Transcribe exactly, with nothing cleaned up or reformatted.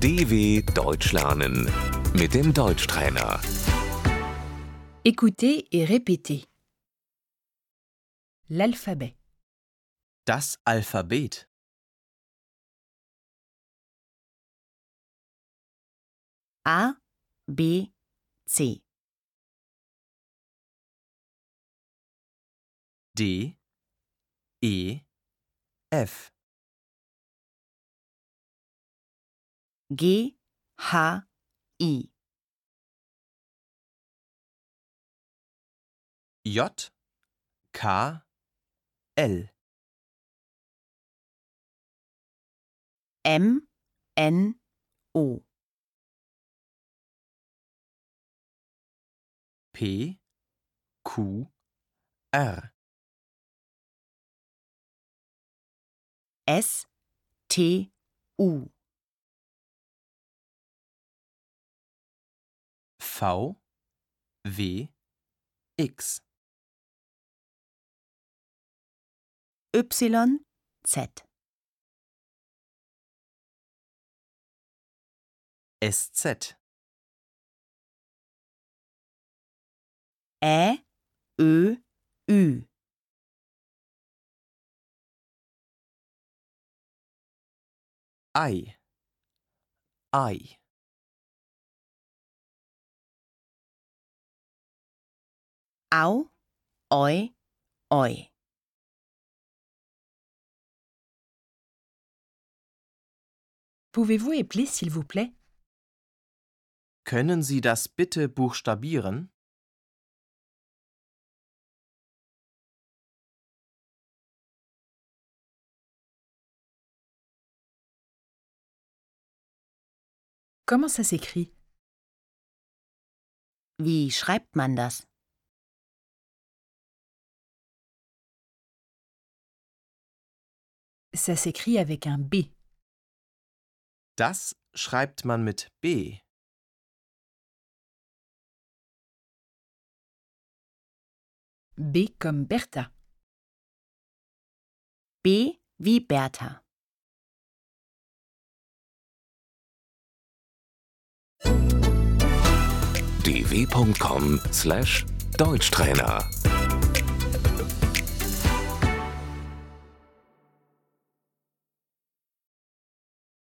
D W Deutsch lernen mit dem Deutschtrainer. Écoutez et répétez. L'alphabet. Das Alphabet. A, B, C. D, E, F. G, H, I. J, K, L. M, N, O. P, Q, R. S, T, U. V, W, X. Y, Z. S Z. Ä, Ö, Ü. I, I. Au, Oi, Oi. Pouvez-vous épeler s'il vous plaît? Können Sie das bitte buchstabieren? Comment ça s'écrit? Wie schreibt man das? Ça s'écrit avec un B. Das schreibt man mit B. B comme Bertha. B wie Bertha. d w punkt com slash Deutschtrainer